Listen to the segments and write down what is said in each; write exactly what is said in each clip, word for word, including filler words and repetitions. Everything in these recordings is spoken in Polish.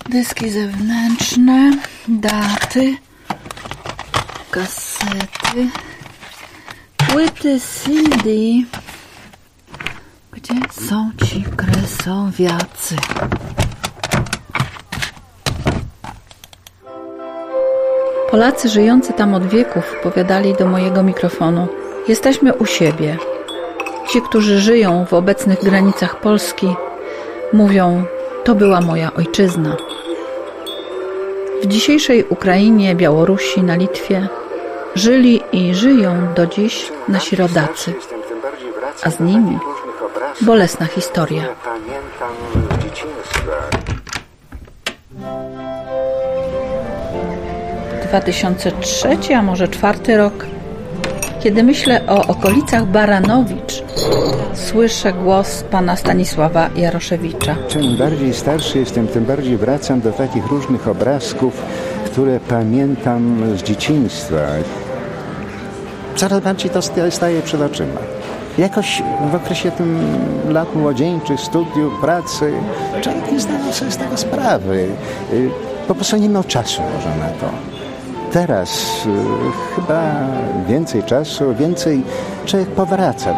Dyski zewnętrzne, daty, kasety, płyty C D. Gdzie są ci kresowiacy? Polacy żyjący tam od wieków powiadali do mojego mikrofonu: jesteśmy u siebie. Ci, którzy żyją w obecnych granicach Polski, mówią: to była moja ojczyzna. W dzisiejszej Ukrainie, Białorusi, na Litwie żyli i żyją do dziś nasi rodacy, a z nimi bolesna historia. dwa tysiące trzeci, a może czwarty rok. Kiedy myślę o okolicach Baranowicz, słyszę głos pana Stanisława Jaroszewicza. Czym bardziej starszy jestem, tym bardziej wracam do takich różnych obrazków, które pamiętam z dzieciństwa. Coraz bardziej to staje przed oczyma. Jakoś w okresie tym lat młodzieńczych, studiów, pracy, człowiek nie zdawał sobie z tego sprawy. Po prostu nie miał czasu może na to. Teraz y, chyba więcej czasu, więcej człowiek powraca.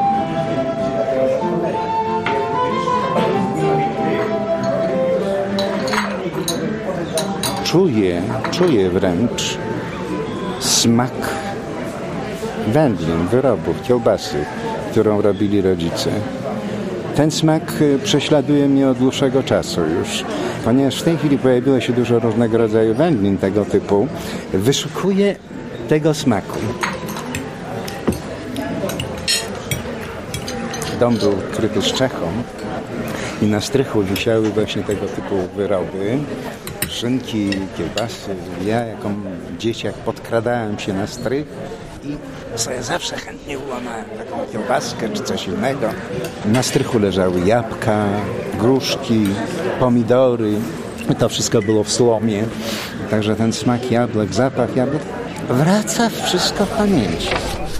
Czuję, czuję wręcz smak wędlin, wyrobów, kiełbasy, którą robili rodzice. Ten smak prześladuje mnie od dłuższego czasu już. Ponieważ w tej chwili pojawiło się dużo różnego rodzaju wędlin tego typu, wyszukuję tego smaku. Dom był kryty strzechą i na strychu wisiały właśnie tego typu wyroby. Szynki, kiełbasy. Ja jako dzieciak podkradałem się na strych i sobie zawsze chętnie ułamałem taką kiełbaskę czy coś innego. Na strychu leżały jabłka, gruszki, pomidory. To wszystko było w słomie. Także ten smak jabłek, zapach jabłek wraca wszystko w pamięci.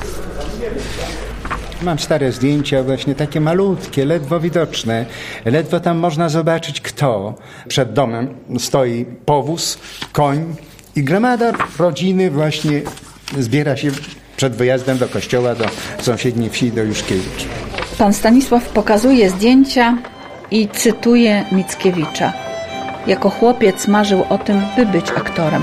Mam stare zdjęcia, właśnie takie malutkie, ledwo widoczne. Ledwo tam można zobaczyć, kto. Przed domem stoi powóz, koń i gromada rodziny właśnie zbiera się przed wyjazdem do kościoła, do sąsiedniej wsi, do Juszkiewicz. Pan Stanisław pokazuje zdjęcia i cytuje Mickiewicza. Jako chłopiec marzył o tym, by być aktorem.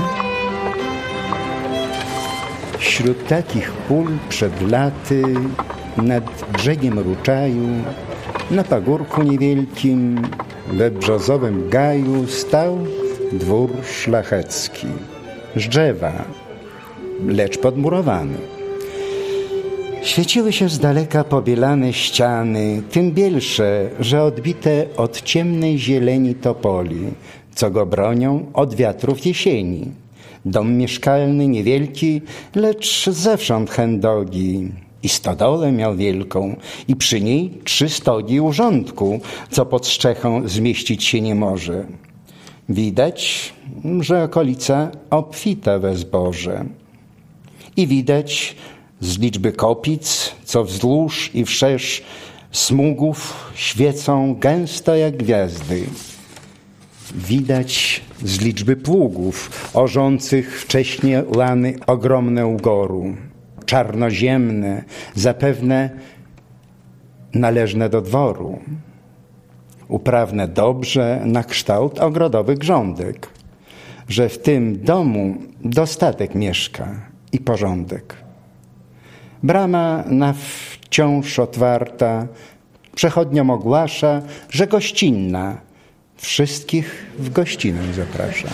Wśród takich pól przed laty, nad brzegiem Ruczaju, na pagórku niewielkim, we brzozowym gaju stał dwór szlachecki. Z drzewa, lecz podmurowany. Świeciły się z daleka pobielane ściany, tym bielsze, że odbite od ciemnej zieleni topoli, co go bronią od wiatrów jesieni. Dom mieszkalny niewielki, lecz zewsząd chędogi. I stodolę miał wielką, i przy niej trzy stogi urządku, co pod strzechą zmieścić się nie może. Widać, że okolica obfita we zboże. I widać z liczby kopic, co wzdłuż i wszerz smugów świecą gęsto jak gwiazdy. Widać z liczby pługów orzących wcześnie lany ogromne ugoru. Czarnoziemne, zapewne należne do dworu. Uprawne dobrze na kształt ogrodowych grządek, że w tym domu dostatek mieszka i porządek. Brama na wciąż otwarta, przechodniom ogłasza, że gościnna, wszystkich w gościnę zaprasza.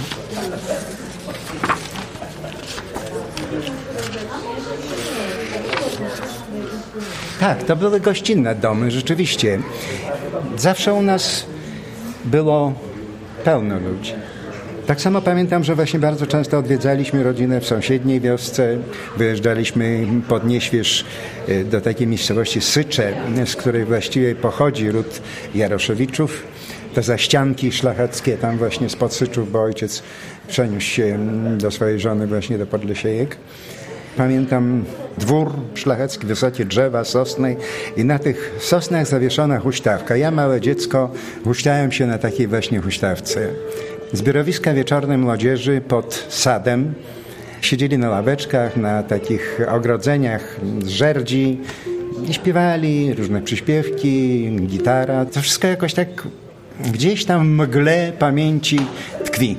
Tak, to były gościnne domy, rzeczywiście. Zawsze u nas było pełno ludzi. Tak samo pamiętam, że właśnie bardzo często odwiedzaliśmy rodzinę w sąsiedniej wiosce. Wyjeżdżaliśmy pod Nieśwież do takiej miejscowości Sycze, z której właściwie pochodzi ród Jaroszewiczów. Te zaścianki szlacheckie tam właśnie spod Syczów, bo ojciec przeniósł się do swojej żony właśnie do Podlesiejek. Pamiętam dwór szlachecki, wysokie drzewa, sosny i na tych sosnach zawieszona huśtawka. Ja, małe dziecko, huśtałem się na takiej właśnie huśtawce. Zbiorowiska wieczornej młodzieży pod sadem. Siedzieli na ławeczkach, na takich ogrodzeniach z żerdzi i śpiewali różne przyśpiewki, gitara. To wszystko jakoś tak gdzieś tam w mgle pamięci tkwi.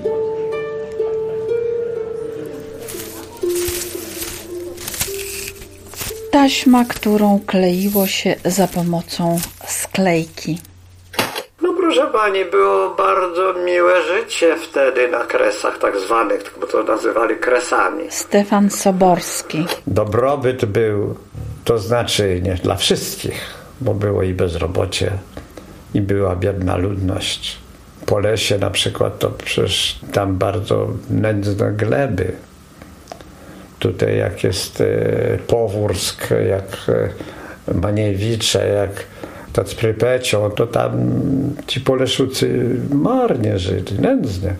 Taśma, którą kleiło się za pomocą sklejki. No proszę pani, było bardzo miłe życie wtedy na Kresach tak zwanych, bo to nazywali Kresami. Stefan Soborski. Dobrobyt był, to znaczy nie dla wszystkich, bo było i bezrobocie, i była biedna ludność. Po lesie na przykład to przecież tam bardzo nędzne gleby. Tutaj jak jest e, Powórsk, jak e, Maniewicze, jak z Prypecią, to tam ci Poleszucy marnie żyli, nędznie.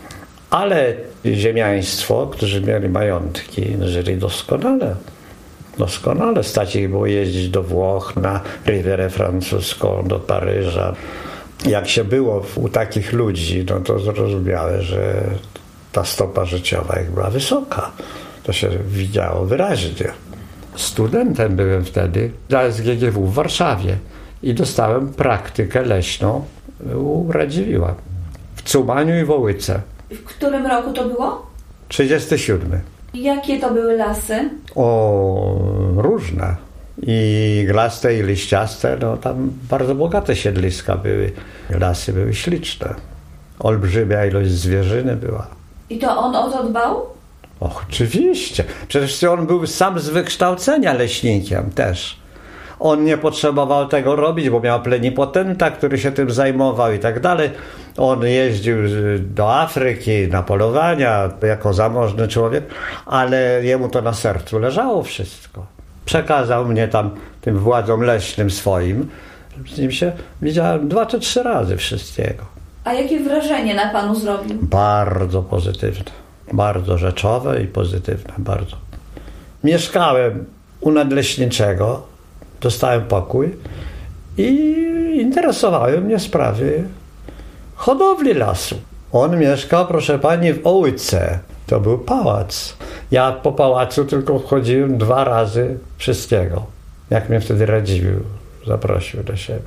Ale ziemiaństwo, którzy mieli majątki, żyli doskonale. Doskonale. Stać ich było jeździć do Włoch, na Rivierę Francuską, do Paryża. Jak się było u takich ludzi, no to zrozumiałe, że ta stopa życiowa ich była wysoka. To się widziało wyraźnie. Studentem byłem wtedy na S G G W w Warszawie i dostałem praktykę leśną u Radziwiłła w Cumaniu i Wołyce. W którym roku to było? trzydziesty siódmy. Jakie to były lasy? O, różne. I iglaste, i liściaste. No tam bardzo bogate siedliska były. Lasy były śliczne. Olbrzymia ilość zwierzyny była. I to on o to dbał? Och, oczywiście. Przecież on był sam z wykształcenia leśnikiem też. On nie potrzebował tego robić, bo miał plenipotenta, który się tym zajmował i tak dalej. On jeździł do Afryki na polowania jako zamożny człowiek, ale jemu to na sercu leżało wszystko. Przekazał mnie tam tym władzom leśnym swoim. Z nim się widziałem dwa czy trzy razy wszystkiego. A jakie wrażenie na panu zrobił? Bardzo pozytywne. Bardzo rzeczowe i pozytywne. Bardzo. Mieszkałem u nadleśniczego. Dostałem pokój i interesowały mnie sprawy hodowli lasu. On mieszkał, proszę pani, w Ołyce. To był pałac. Ja po pałacu tylko wchodziłem dwa razy wszystkiego. Jak mnie wtedy Radziwiłł zaprosił do siebie.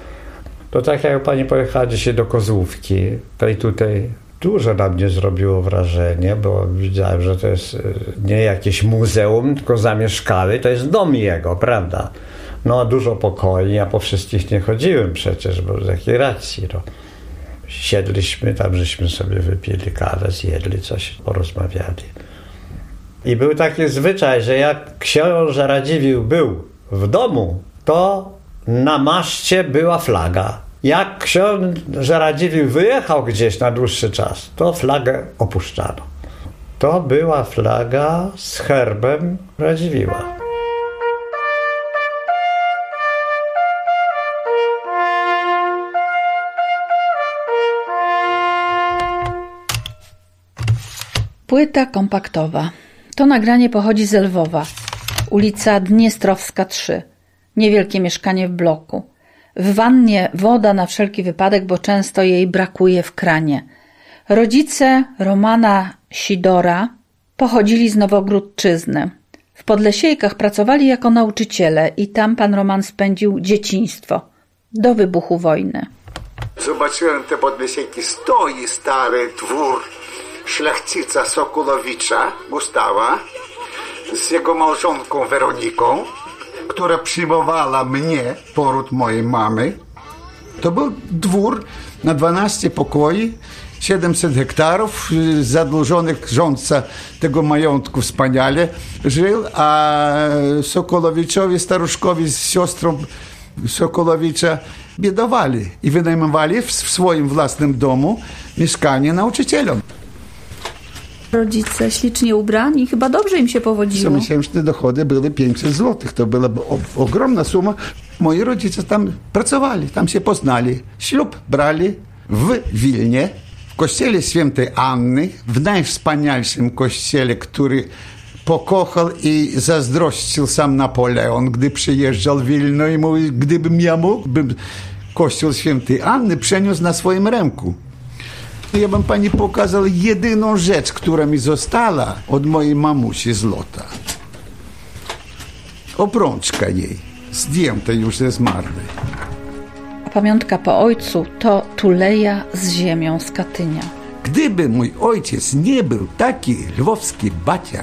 To tak jak pani pojechała dzisiaj do Kozłówki, to i tutaj dużo na mnie zrobiło wrażenie, bo widziałem, że to jest nie jakieś muzeum, tylko zamieszkały, to jest dom jego, prawda? No dużo pokoi, ja po wszystkich nie chodziłem przecież, bo z jakiej racji, no. Siedliśmy tam, żeśmy sobie wypili kawę, zjedli coś, porozmawiali. I był taki zwyczaj, że jak książę Radziwiłł był w domu, to na maszcie była flaga. Jak książę Radziwiłł wyjechał gdzieś na dłuższy czas, to flagę opuszczano. To była flaga z herbem Radziwiłła. Płyta kompaktowa. To nagranie pochodzi z Lwowa. Ulica Dniestrowska trzy. Niewielkie mieszkanie w bloku. W wannie woda na wszelki wypadek, bo często jej brakuje w kranie. Rodzice Romana Sidora pochodzili z Nowogródczyzny. W Podlesiejkach pracowali jako nauczyciele i tam pan Roman spędził dzieciństwo do wybuchu wojny. Zobaczyłem te Podlesiejki. Stoi stary dwór szlachcica Sokolowicza, Gustawa, z jego małżonką Weroniką, która przyjmowała mnie, poród mojej mamy. To był dwór na dwanaście pokoi, siedemset hektarów, zadłużonych rządca tego majątku wspaniale żył, a Sokolowiczowi, staruszkowi z siostrą Sokolowicza biedowali i wynajmowali w swoim własnym domu mieszkanie nauczycielom. Rodzice ślicznie ubrani, chyba dobrze im się powodziło. Miesięczne dochody były pięćset złotych. To była ogromna suma. Moi rodzice tam pracowali, tam się poznali. Ślub brali w Wilnie, w kościele świętej Anny, w najwspanialszym kościele, który pokochał i zazdrościł sam Napoleon, gdy przyjeżdżał w Wilno i mówił, gdybym ja mógł, bym kościół świętej Anny przeniósł na swoim ręku. Ja bym pani pokazał jedyną rzecz, która mi została od mojej mamusi złota. Obrączka jej, zdjęta już ze zmarłej. Pamiątka po ojcu to tuleja z ziemią z Katynia. Gdyby mój ojciec nie był taki lwowski baciar,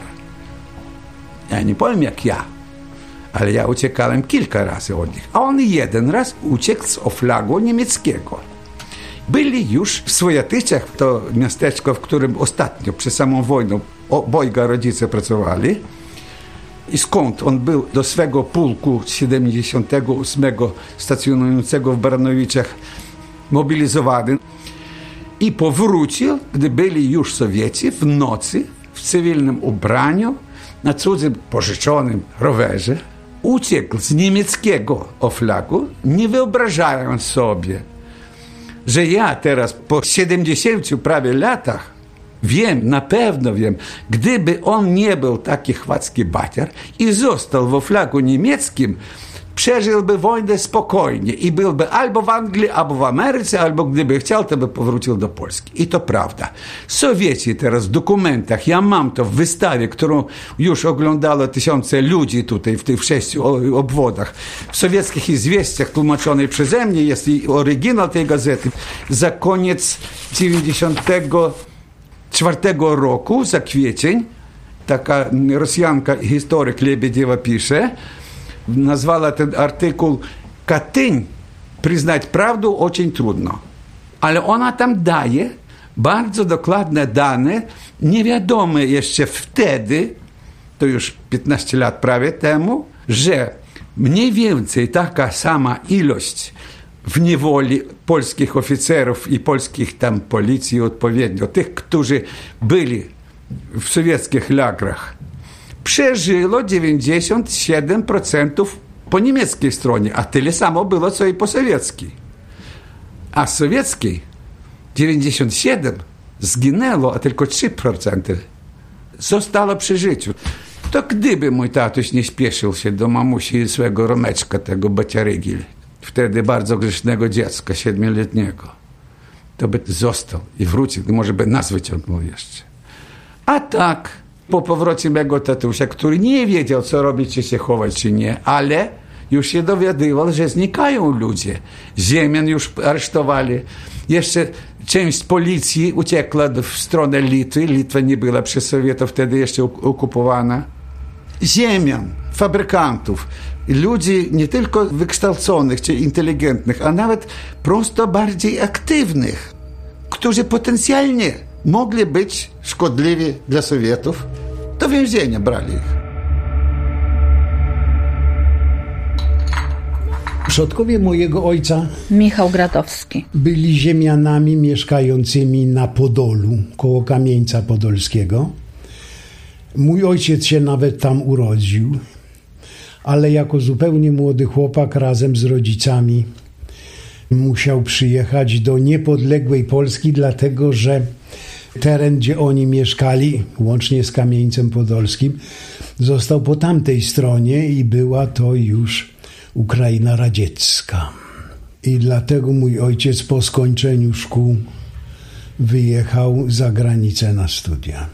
ja nie powiem jak ja, ale ja uciekałem kilka razy od nich, a on jeden raz uciekł z Oflagu niemieckiego. Byli już w Swojatyczach, to miasteczko, w którym ostatnio, przed samą wojną, obojga rodzice pracowali. I skąd on był do swego pułku siedemdziesiątego ósmego stacjonującego w Baranowiczach mobilizowany. I powrócił, gdy byli już Sowieci, w nocy, w cywilnym ubraniu, na cudzym pożyczonym rowerze. Uciekł z niemieckiego Oflagu, nie wyobrażając sobie, że ja teraz po siedemdziesięciu prawie latach wiem, na pewno wiem, gdyby on nie był taki chwacki baciar i został w Oflagu niemieckim, przeżyłby wojnę spokojnie i byłby albo w Anglii, albo w Ameryce, albo gdyby chciał, to by powrócił do Polski. I to prawda. Sowieci teraz w dokumentach, ja mam to w wystawie, którą już oglądało tysiące ludzi tutaj w tych sześciu obwodach. W sowieckich izwiestiach tłumaczonej przeze mnie jest i oryginał tej gazety. Za koniec dziewięćdziesiątego czwartego roku, za kwiecień, taka Rosjanka, historyk Lebediewa pisze, nazwała ten artykuł «Katyń. Przyznać prawdę очень trudno». Ale ona tam daje bardzo dokładne dane, niewiadome jeszcze wtedy, to już piętnaście lat prawie temu, że mniej więcej taka sama ilość w niewoli polskich oficerów i polskich tam policji odpowiednio, tych, którzy byli w sowieckich lagrach, przeżyło dziewięćdziesiąt siedem procent po niemieckiej stronie, a tyle samo było, co i po sowieckiej. A z sowieckiej dziewięćdziesiąt siedem zginęło, a tylko trzy procent zostało przy życiu. To gdyby mój tatuś nie śpieszył się do mamusi i swego Romeczka, tego baciarygi, wtedy bardzo grzesznego dziecka, siedmioletniego, to by został i wrócił, może by nas wyciągnął jeszcze. A tak, po powrocie mego tatusia, który nie wiedział, co robić, czy się chować, czy nie, ale już się dowiadywał, że znikają ludzie. Ziemian już aresztowali. Jeszcze część z policji uciekła w stronę Litwy. Litwa nie była przez Sowietów wtedy jeszcze okupowana. Ziemian, fabrykantów, ludzi nie tylko wykształconych czy inteligentnych, a nawet prosto bardziej aktywnych, którzy potencjalnie mogli być szkodliwi dla Sowietów, do więzienia brali ich. Przodkowie mojego ojca, Michał Gradowski, byli ziemianami mieszkającymi na Podolu, koło Kamieńca Podolskiego. Mój ojciec się nawet tam urodził, ale jako zupełnie młody chłopak razem z rodzicami musiał przyjechać do niepodległej Polski, dlatego że teren, gdzie oni mieszkali, łącznie z Kamieńcem Podolskim, został po tamtej stronie i była to już Ukraina radziecka. I dlatego mój ojciec po skończeniu szkół wyjechał za granicę na studia.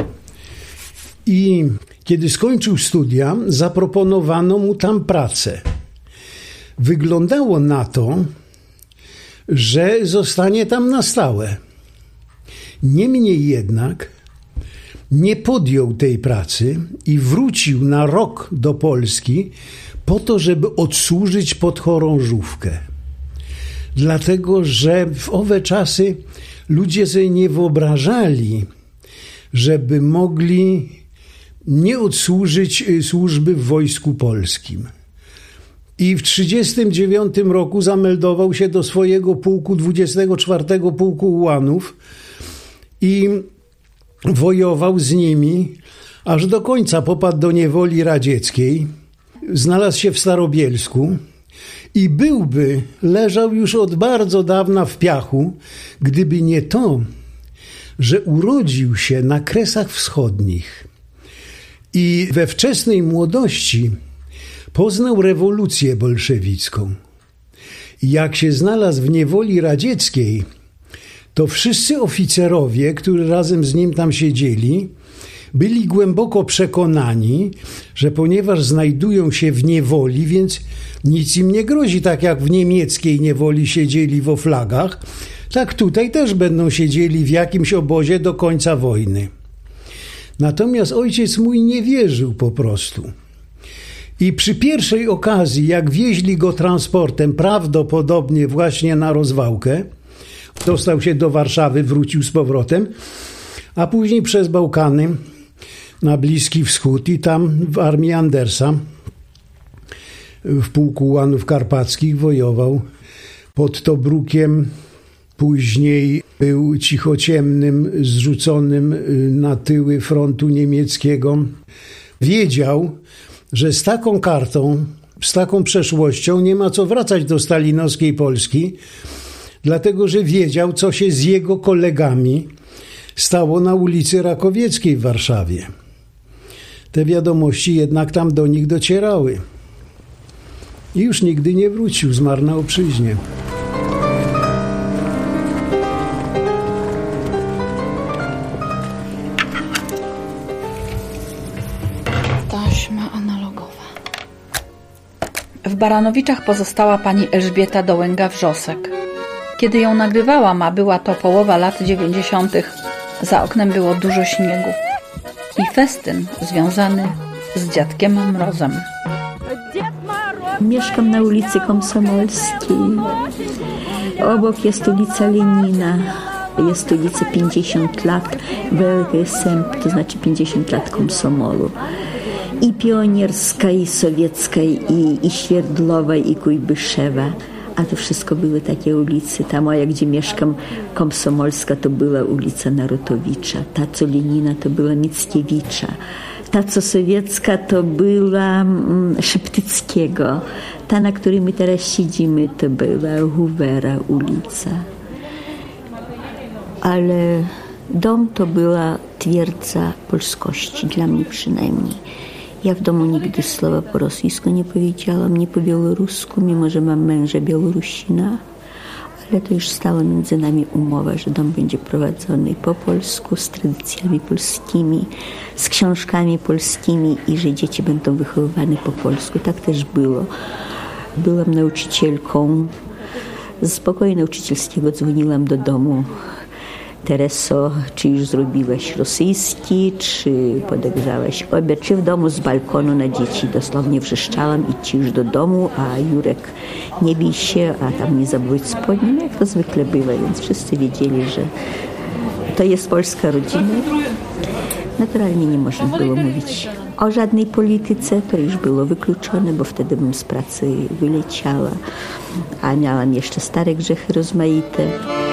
I kiedy skończył studia, zaproponowano mu tam pracę. Wyglądało na to, że zostanie tam na stałe. Niemniej jednak nie podjął tej pracy i wrócił na rok do Polski po to, żeby odsłużyć podchorążówkę. Dlatego, że w owe czasy ludzie sobie nie wyobrażali, żeby mogli nie odsłużyć służby w Wojsku Polskim. I w trzydziestym dziewiątym roku zameldował się do swojego pułku, dwudziestego czwartego Pułku Ułanów i wojował z nimi, aż do końca popadł do niewoli radzieckiej. Znalazł się w Starobielsku i byłby, leżał już od bardzo dawna w piachu, gdyby nie to, że urodził się na Kresach Wschodnich i we wczesnej młodości poznał rewolucję bolszewicką. I jak się znalazł w niewoli radzieckiej, to wszyscy oficerowie, którzy razem z nim tam siedzieli, byli głęboko przekonani, że ponieważ znajdują się w niewoli, więc nic im nie grozi, tak jak w niemieckiej niewoli siedzieli w oflagach, tak tutaj też będą siedzieli w jakimś obozie do końca wojny. Natomiast ojciec mój nie wierzył po prostu. I przy pierwszej okazji, jak wieźli go transportem, prawdopodobnie właśnie na rozwałkę, dostał się do Warszawy, wrócił z powrotem, a później przez Bałkany na Bliski Wschód i tam w armii Andersa w pułku Ułanów Karpackich wojował pod Tobrukiem. Później był cichociemnym, zrzuconym na tyły frontu niemieckiego. Wiedział, że z taką kartą, z taką przeszłością nie ma co wracać do stalinowskiej Polski, dlatego że wiedział, co się z jego kolegami stało na ulicy Rakowieckiej w Warszawie. Te wiadomości jednak tam do nich docierały. I już nigdy nie wrócił, zmarł na obczyźnie. Taśma analogowa. W Baranowiczach pozostała pani Elżbieta Dołęga-Wrzosek. Kiedy ją nagrywałam, a była to połowa lat dziewięćdziesiątych, za oknem było dużo śniegu i festyn związany z dziadkiem Mrozem. Mieszkam na ulicy Komsomolskiej. Obok jest ulica Lenina. Jest ulica pięćdziesiąt lat W L K S M, to znaczy pięćdziesiąt lat Komsomolu. I Pionierska, i Sowiecka, i, i Świerdlowa, i Kujbyszewa. A to wszystko były takie ulice. Ta moja, gdzie mieszkam, Komsomolska, to była ulica Narutowicza. Ta, co Lenina, to była Mickiewicza. Ta, co sowiecka, to była mm, Szeptyckiego. Ta, na której my teraz siedzimy, to była Hoovera ulica. Ale dom to była twierdza polskości, dla mnie przynajmniej. Ja w domu nigdy słowa po rosyjsku nie powiedziałam, nie po białorusku, mimo że mam męża Białorusina. Ale to już stała między nami umowa, że dom będzie prowadzony po polsku, z tradycjami polskimi, z książkami polskimi i że dzieci będą wychowywane po polsku. Tak też było. Byłam nauczycielką. Z pokoju nauczycielskiego dzwoniłam do domu. Tereso, czy już zrobiłaś rosyjski, czy podegrzałaś obiad, czy w domu z balkonu na dzieci dosłownie wrzeszczałam idźcie już do domu, a Jurek nie bij się, a tam nie zabudź spodni, no jak to zwykle bywa, więc wszyscy wiedzieli, że to jest polska rodzina. Naturalnie nie można było mówić o żadnej polityce, to już było wykluczone, bo wtedy bym z pracy wyleciała, a miałam jeszcze stare grzechy rozmaite.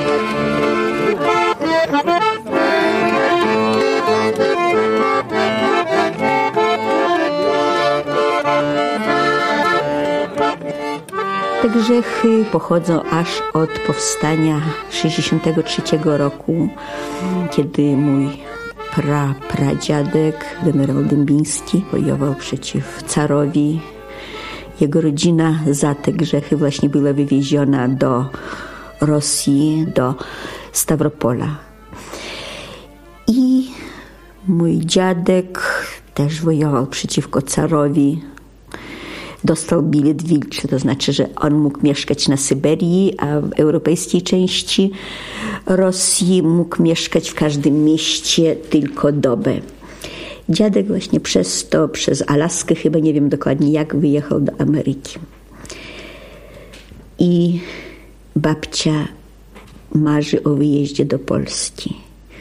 Te grzechy pochodzą aż od powstania sześćdziesiątego trzeciego roku, kiedy mój pra, pradziadek, generał Dębiński, wojował przeciw carowi. Jego rodzina za te grzechy właśnie była wywieziona do Rosji, do Stawropola. I mój dziadek też wojował przeciwko carowi. Dostał bilet wilczy, to znaczy, że on mógł mieszkać na Syberii, a w europejskiej części Rosji mógł mieszkać w każdym mieście tylko dobę. Dziadek właśnie przez to, przez Alaskę, chyba nie wiem dokładnie jak, wyjechał do Ameryki. I babcia marzy o wyjeździe do Polski.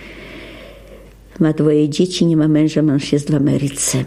Ma dwoje dzieci, nie ma męża, mąż jest w Ameryce.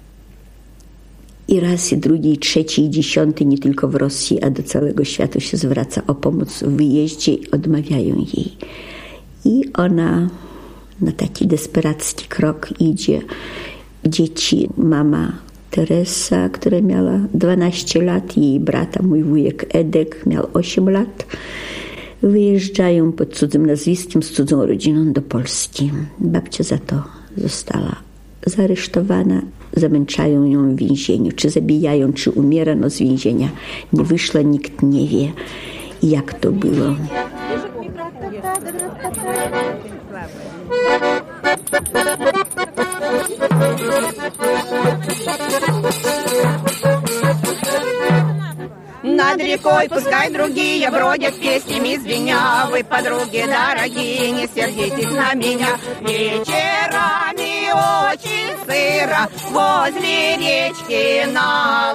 I raz, i drugi, i trzeci, i dziesiąty, nie tylko w Rosji, a do całego świata się zwraca o pomoc w wyjeździe i odmawiają jej. I ona na taki desperacki krok idzie. Dzieci, mama Teresa, która miała dwanaście lat, i jej brata, mój wujek Edek, miał osiem lat. Wyjeżdżają pod cudzym nazwiskiem, z cudzą rodziną do Polski. Babcia za to została zaaresztowana, zamęczają ją w więzieniu. Czy zabijają, czy umiera, no z więzienia nie wyszła, nikt nie wie, jak to było. Над рекой пускай другие бродят, песнями звеня. Вы, подруги дорогие, не сердитесь на меня. Вечерами очень сыро возле речки на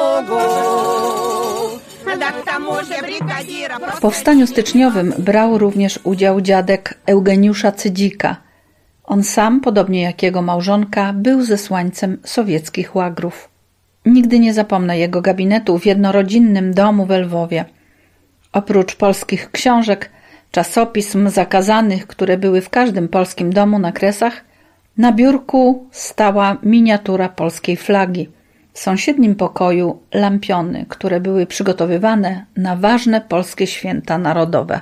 лугу. Да к тому же бригадира... W powstaniu styczniowym brał również udział dziadek Eugeniusza Cydzika. On sam, podobnie jak jego małżonka, był zesłańcem sowieckich łagrów. Nigdy nie zapomnę jego gabinetu w jednorodzinnym domu w Lwowie. Oprócz polskich książek, czasopism zakazanych, które były w każdym polskim domu na Kresach, na biurku stała miniatura polskiej flagi. W sąsiednim pokoju lampiony, które były przygotowywane na ważne polskie święta narodowe.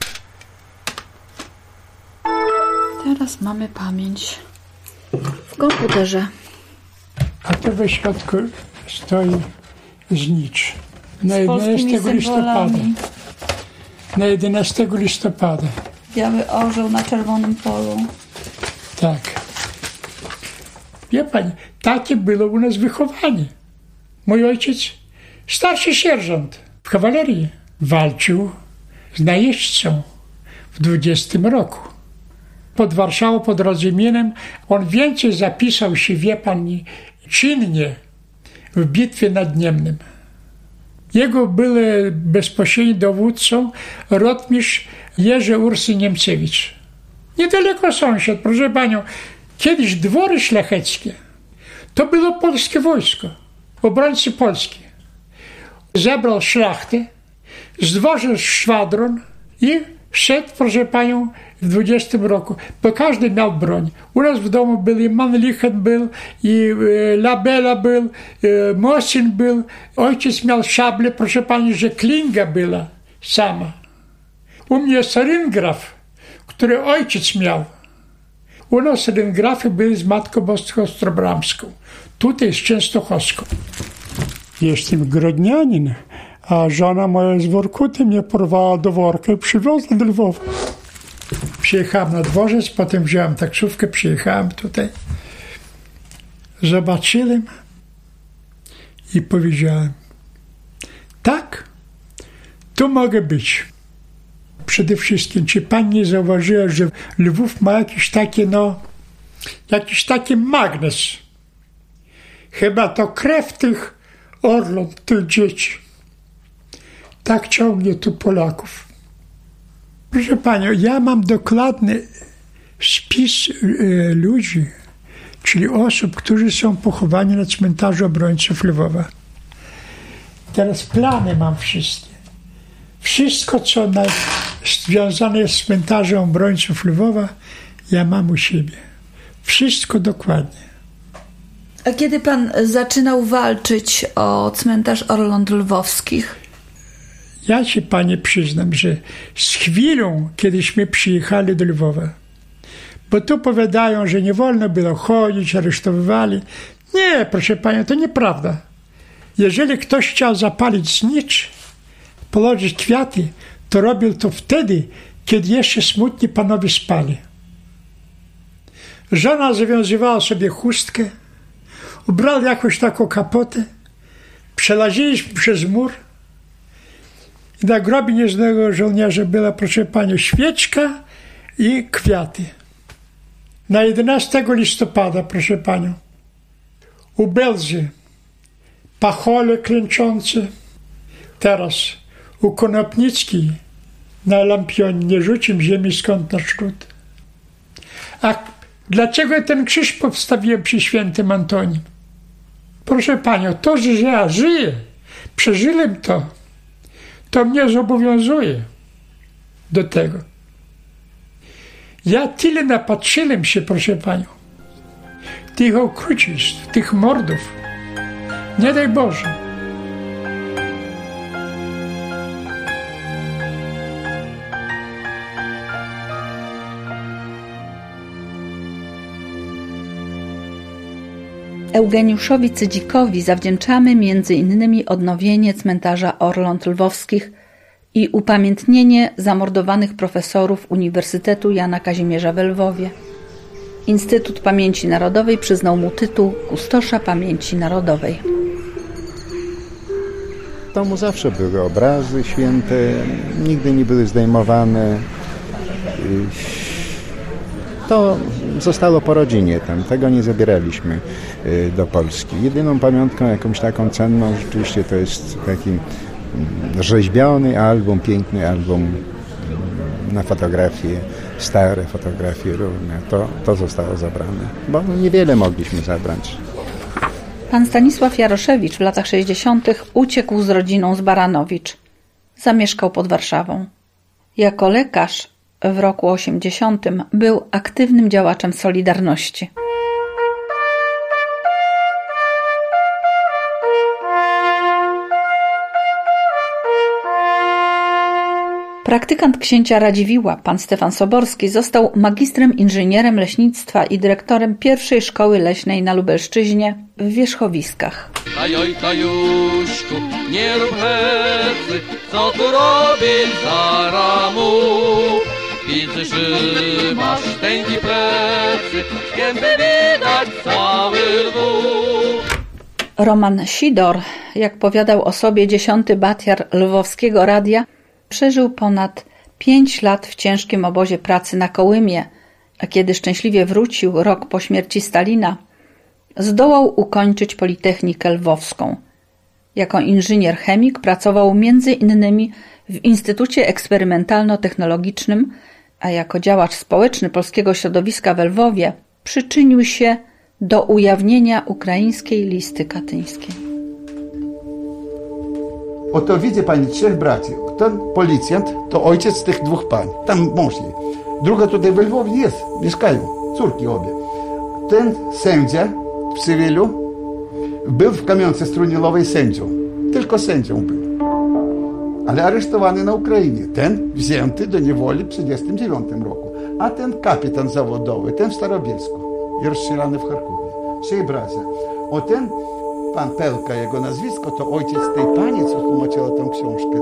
Teraz mamy pamięć w komputerze. A to we środku stoi znicz. Na jedenastego listopada. Na jedenastego listopada. Biały orzeł na czerwonym polu. Tak. Wie pani, takie było u nas wychowanie. Mój ojciec, starszy sierżant w kawalerii, walczył z najeźdźcą w dwudziestym roku. Pod Warszawą, pod Rodzyminem. On więcej zapisał się, wie pani, czynnie w bitwie nad Niemnem. Jego był bezpośrednim dowódcą rotmistrz Jerzy Ursy Niemcewicz. Niedaleko sąsiad, proszę panią. Kiedyś dwory szlacheckie to było polskie wojsko, obrońcy Polski. Zebrał szlachtę, zdwożył szwadron i szedł, proszę panią, w dwudziestym roku. Bo każdy miał broń. U nas w domu był i Mannlichen był, i e, Labella był, e, Mosin był. Ojciec miał szablę, proszę pani, że klinga była sama. U mnie jest ryngraf, który ojciec miał. U nas ryngrafy były z Matką Boską Ostrobramską. Tutaj z Częstochowską. Jestem grodnianin, a żona moja z Workuty mnie porwała do worka i przywiozła do Lwowa. Przyjechałem na dworzec, potem wziąłem taksówkę, przyjechałem tutaj. Zobaczyłem i powiedziałem, tak, tu mogę być. Przede wszystkim, czy pani nie zauważyła, że Lwów ma jakiś taki, no, jakiś taki magnes. Chyba to krew tych Orląt, tych dzieci. Tak ciągnie tu Polaków. Proszę panią, ja mam dokładny spis y, ludzi, czyli osób, którzy są pochowani na cmentarzu obrońców Lwowa. Teraz plany mam wszystkie. Wszystko, co na, związane jest z cmentarzem obrońców Lwowa, ja mam u siebie. Wszystko dokładnie. A kiedy pan zaczynał walczyć o cmentarz Orląt Lwowskich? Ja ci, panie, przyznam, że z chwilą, kiedyśmy przyjechali do Lwowa, bo tu powiadają, że nie wolno było chodzić, aresztowywali. Nie, proszę panią, to nieprawda. Jeżeli ktoś chciał zapalić znicz, położyć kwiaty, to robił to wtedy, kiedy jeszcze smutni panowie spali. Żona zawiązywała sobie chustkę, ubrał jakąś taką kapotę, przelaziliśmy przez mur i na grobie nieznanego żołnierza była, proszę panią, świeczka i kwiaty. Na jedenastego listopada, proszę panią, u Belzy pachole klęczące. Teraz u Konopnickiej na lampionie nie rzucił ziemi skąd na szród. A dlaczego ten krzyż powstawiłem przy świętym Antonim? Proszę panią, to, że ja żyję, przeżyłem to, to mnie zobowiązuje do tego. Ja tyle napatrzyłem się, proszę panią, tych okrucieństw, tych mordów. Nie daj Boże. Eugeniuszowi Cydzikowi zawdzięczamy między innymi odnowienie cmentarza Orląt Lwowskich i upamiętnienie zamordowanych profesorów Uniwersytetu Jana Kazimierza w Lwowie. Instytut Pamięci Narodowej przyznał mu tytuł Kustosza Pamięci Narodowej. W domu zawsze były obrazy święte, nigdy nie były zdejmowane. To zostało po rodzinie tam, tego nie zabieraliśmy do Polski. Jedyną pamiątką, jakąś taką cenną, rzeczywiście to jest taki rzeźbiony album, piękny album na fotografie, stare fotografie różne. To, to zostało zabrane, bo niewiele mogliśmy zabrać. Pan Stanisław Jaroszewicz w latach sześćdziesiątych uciekł z rodziną z Baranowicz. Zamieszkał pod Warszawą. Jako lekarz w roku osiemdziesiątym był aktywnym działaczem Solidarności. Praktykant księcia Radziwiłła, pan Stefan Soborski, został magistrem inżynierem leśnictwa i dyrektorem pierwszej szkoły leśnej na Lubelszczyźnie w Wierzchowiskach. Tajoj, tajuszku, nie rób hecy, co tu robisz za ramu? Widzę, że masz tęgi plecy, gęby widać cały Lwów. Roman Sidor, jak powiadał o sobie dziesiąty batiar lwowskiego radia, przeżył ponad pięć lat w ciężkim obozie pracy na Kołymie, a kiedy szczęśliwie wrócił rok po śmierci Stalina, zdołał ukończyć Politechnikę Lwowską. Jako inżynier chemik pracował między innymi w Instytucie Eksperymentalno-Technologicznym, a jako działacz społeczny polskiego środowiska w Lwowie przyczynił się do ujawnienia ukraińskiej listy katyńskiej. Oto widzi pani trzech braci. Ten policjant to ojciec tych dwóch pań. Tam mąż jej. Druga tutaj w Lwowie jest, mieszkają. Córki obie. Ten sędzia w cywilu był w kamionce Strunilowej sędzią. Tylko sędzią był. Ale aresztowany na Ukrainie. Ten wzięty do niewoli w tysiąc dziewięćset trzydziestym dziewiątym roku. A ten kapitan zawodowy, ten w Starobielsku. I rozstrzelany w Charkowie. Trzej bracia. O ten pan Pelka, jego nazwisko, to ojciec tej pani, co tłumaczyła tę książkę.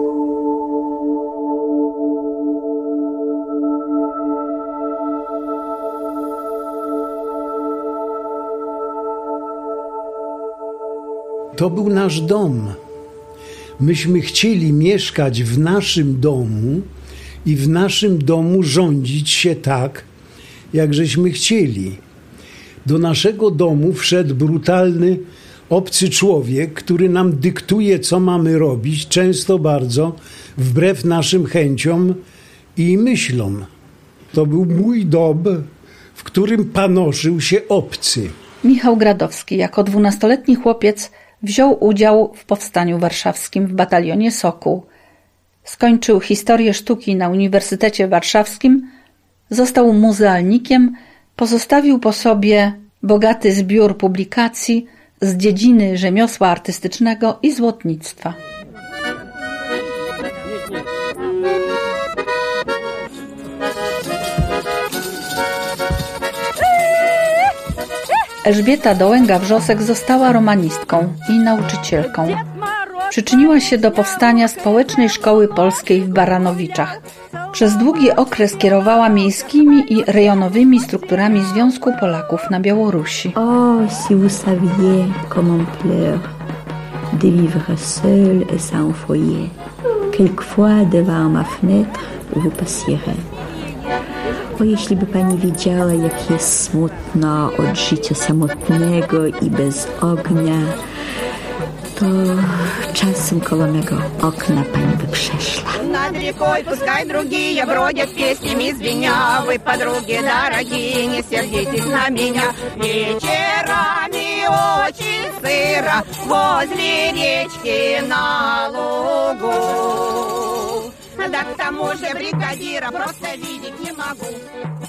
To był nasz dom. Myśmy chcieli mieszkać w naszym domu i w naszym domu rządzić się tak, jak żeśmy chcieli. Do naszego domu wszedł brutalny, obcy człowiek, który nam dyktuje, co mamy robić, często bardzo wbrew naszym chęciom i myślom. To był mój dom, w którym panoszył się obcy. Michał Gradowski jako dwunastoletni chłopiec wziął udział w powstaniu warszawskim w batalionie Sokół. Skończył historię sztuki na Uniwersytecie Warszawskim, został muzealnikiem, pozostawił po sobie bogaty zbiór publikacji z dziedziny rzemiosła artystycznego i złotnictwa. Elżbieta Dołęga-Wrzosek została romanistką i nauczycielką. Przyczyniła się do powstania Społecznej Szkoły Polskiej w Baranowiczach. Przez długi okres kierowała miejskimi i rejonowymi strukturami Związku Polaków na Białorusi. Oh, si vous saviez comme on pleure de vivre seul et sans foyer. Quelquefois devant ma fenêtre vous passierez. O, jeśli by pani wiedziała, jak jest smutno od życia samotnego i bez ognia, to czasem koło mego okna pani by przeszła. Над рекой пускай другие бродят, песнями звеня. Вы, подруги дорогие, не сердитесь на меня. Вечерами очень сыро возле речки на лугу. Да к тому же бригадира просто видеть не могу.